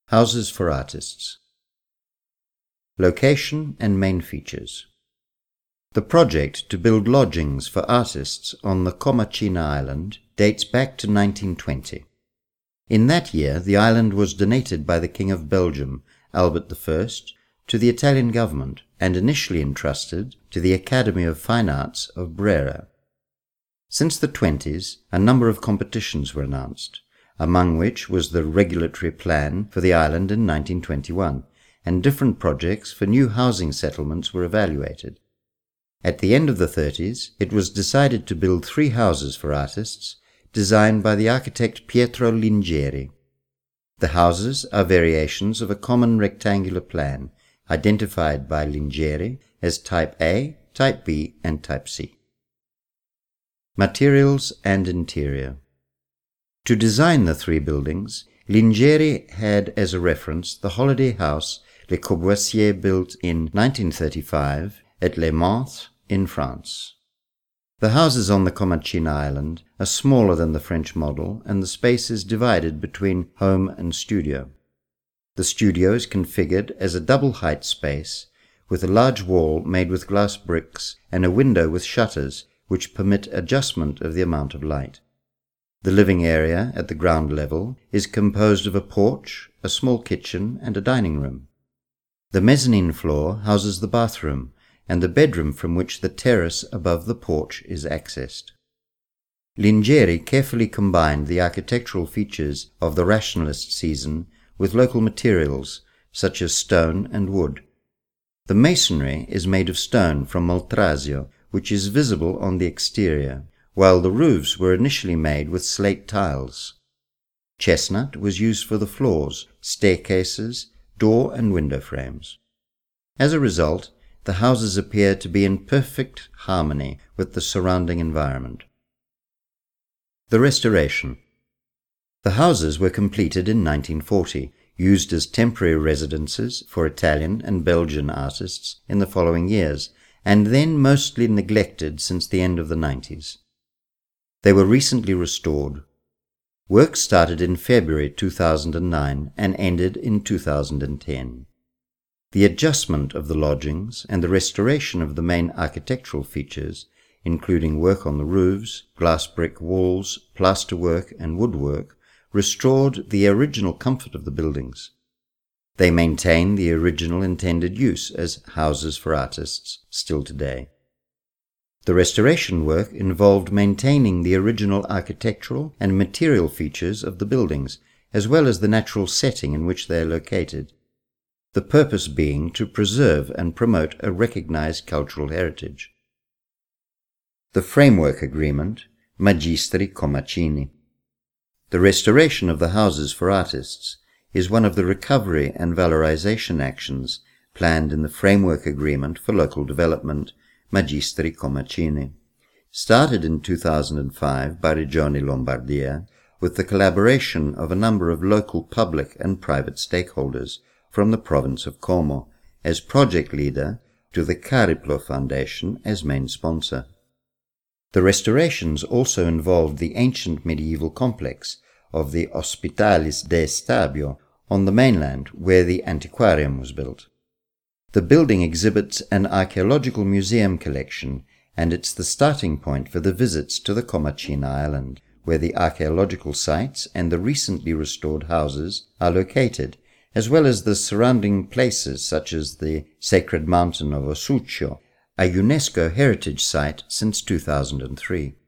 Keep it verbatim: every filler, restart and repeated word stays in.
Houses for Artists. Location and main features. The project to build lodgings for artists on the Comacina island dates back to nineteen twenty. In that year, the island was donated by the King of Belgium, Albert the First, to the Italian government and initially entrusted to the Academy of Fine Arts of Brera. Since the twenties, a number of competitions were announced, among which was the regulatory plan for the island in nineteen twenty-one, and different projects for new housing settlements were evaluated. At the end of the thirties, it was decided to build three houses for artists, designed by the architect Pietro Lingieri. The houses are variations of a common rectangular plan, identified by Lingieri as Type A, Type B, and Type C. Materials and interior. To design the three buildings, Lingieri had as a reference the holiday house Le Corbusier built in nineteen thirty-five at Les Mans in France. The houses on the Comacina island are smaller than the French model, and the space is divided between home and studio. The studio is configured as a double-height space with a large wall made with glass bricks and a window with shutters which permit adjustment of the amount of light. The living area at the ground level is composed of a porch, a small kitchen, and a dining room. The mezzanine floor houses the bathroom and the bedroom from which the terrace above the porch is accessed. Lingieri carefully combined the architectural features of the Rationalist season with local materials such as stone and wood. The masonry is made of stone from Moltrasio, which is visible on the exterior, while the roofs were initially made with slate tiles. Chestnut was used for the floors, staircases, door and window frames. As a result, the houses appear to be in perfect harmony with the surrounding environment. The restoration. The houses were completed in nineteen forty, used as temporary residences for Italian and Belgian artists in the following years, and then mostly neglected since the end of the nineties. They were recently restored. Work started in February two thousand nine and ended in two thousand ten. The adjustment of the lodgings and the restoration of the main architectural features, including work on the roofs, glass brick walls, plasterwork and woodwork, restored the original comfort of the buildings. They maintain the original intended use as houses for artists still today. The restoration work involved maintaining the original architectural and material features of the buildings, as well as the natural setting in which they are located, the purpose being to preserve and promote a recognized cultural heritage. The Framework Agreement, Magistri Comacini. The restoration of the houses for artists is one of the recovery and valorization actions planned in the Framework Agreement for Local Development, Magistri Comacini, started in two thousand five by Regione Lombardia with the collaboration of a number of local public and private stakeholders from the province of Como as project leader to the Cariplo Foundation as main sponsor. The restorations also involved the ancient medieval complex of the Hospitalis de Stabio on the mainland where the antiquarium was built. The building exhibits an archaeological museum collection, and it's the starting point for the visits to the Comacina island, where the archaeological sites and the recently restored houses are located, as well as the surrounding places such as the Sacred Mountain of Osuccio, a UNESCO heritage site since two thousand three.